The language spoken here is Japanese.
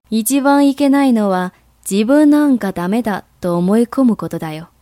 一番いけないのは自分なんかダメだと思い込むことだよ。